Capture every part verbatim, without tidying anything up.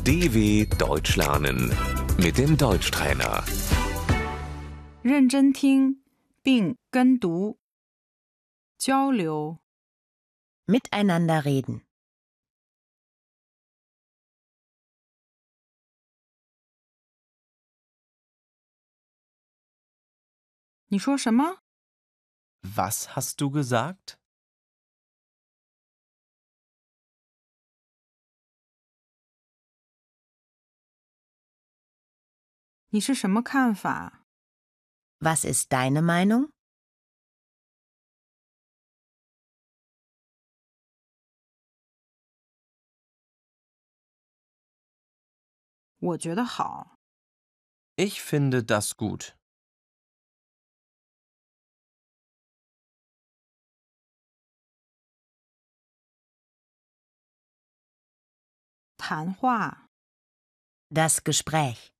D W Deutsch lernen mit dem Deutschtrainer. 认真听并跟读，交流。 Miteinander reden. 你说什么？ Was hast du gesagt? 你是什么看法？ Was ist deine Meinung? 我觉得好。 Ich finde das gut. 谈话。 Das Gespräch.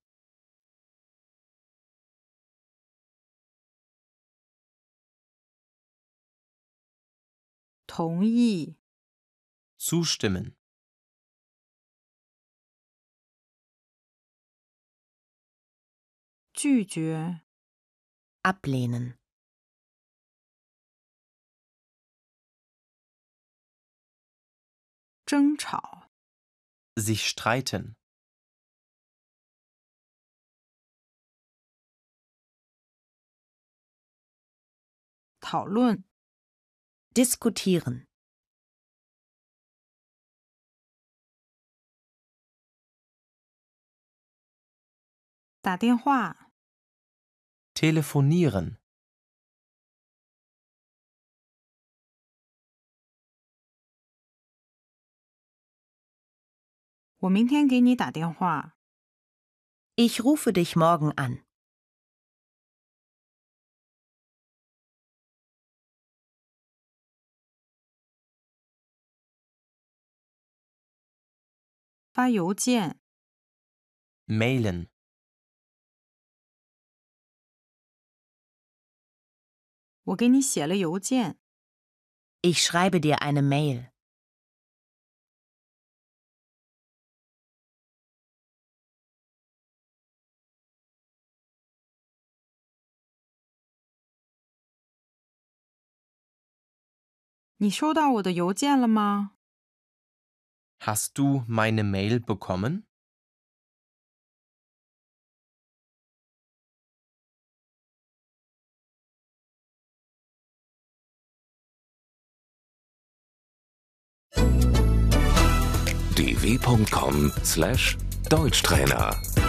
同意。 Zustimmen. 拒绝。 Ablehnen. 争吵。 Sich streiten. 讨论。 Diskutieren. 打电话。 Telefonieren. 我明天给你打电话。 Ich rufe dich morgen an. 发邮件。 Mailen. 我给你写了邮件。 Ich schreibe dir eine Mail. 你收到我的邮件了吗？ Hast du meine Mail bekommen? d w punkt com slash Deutschtrainer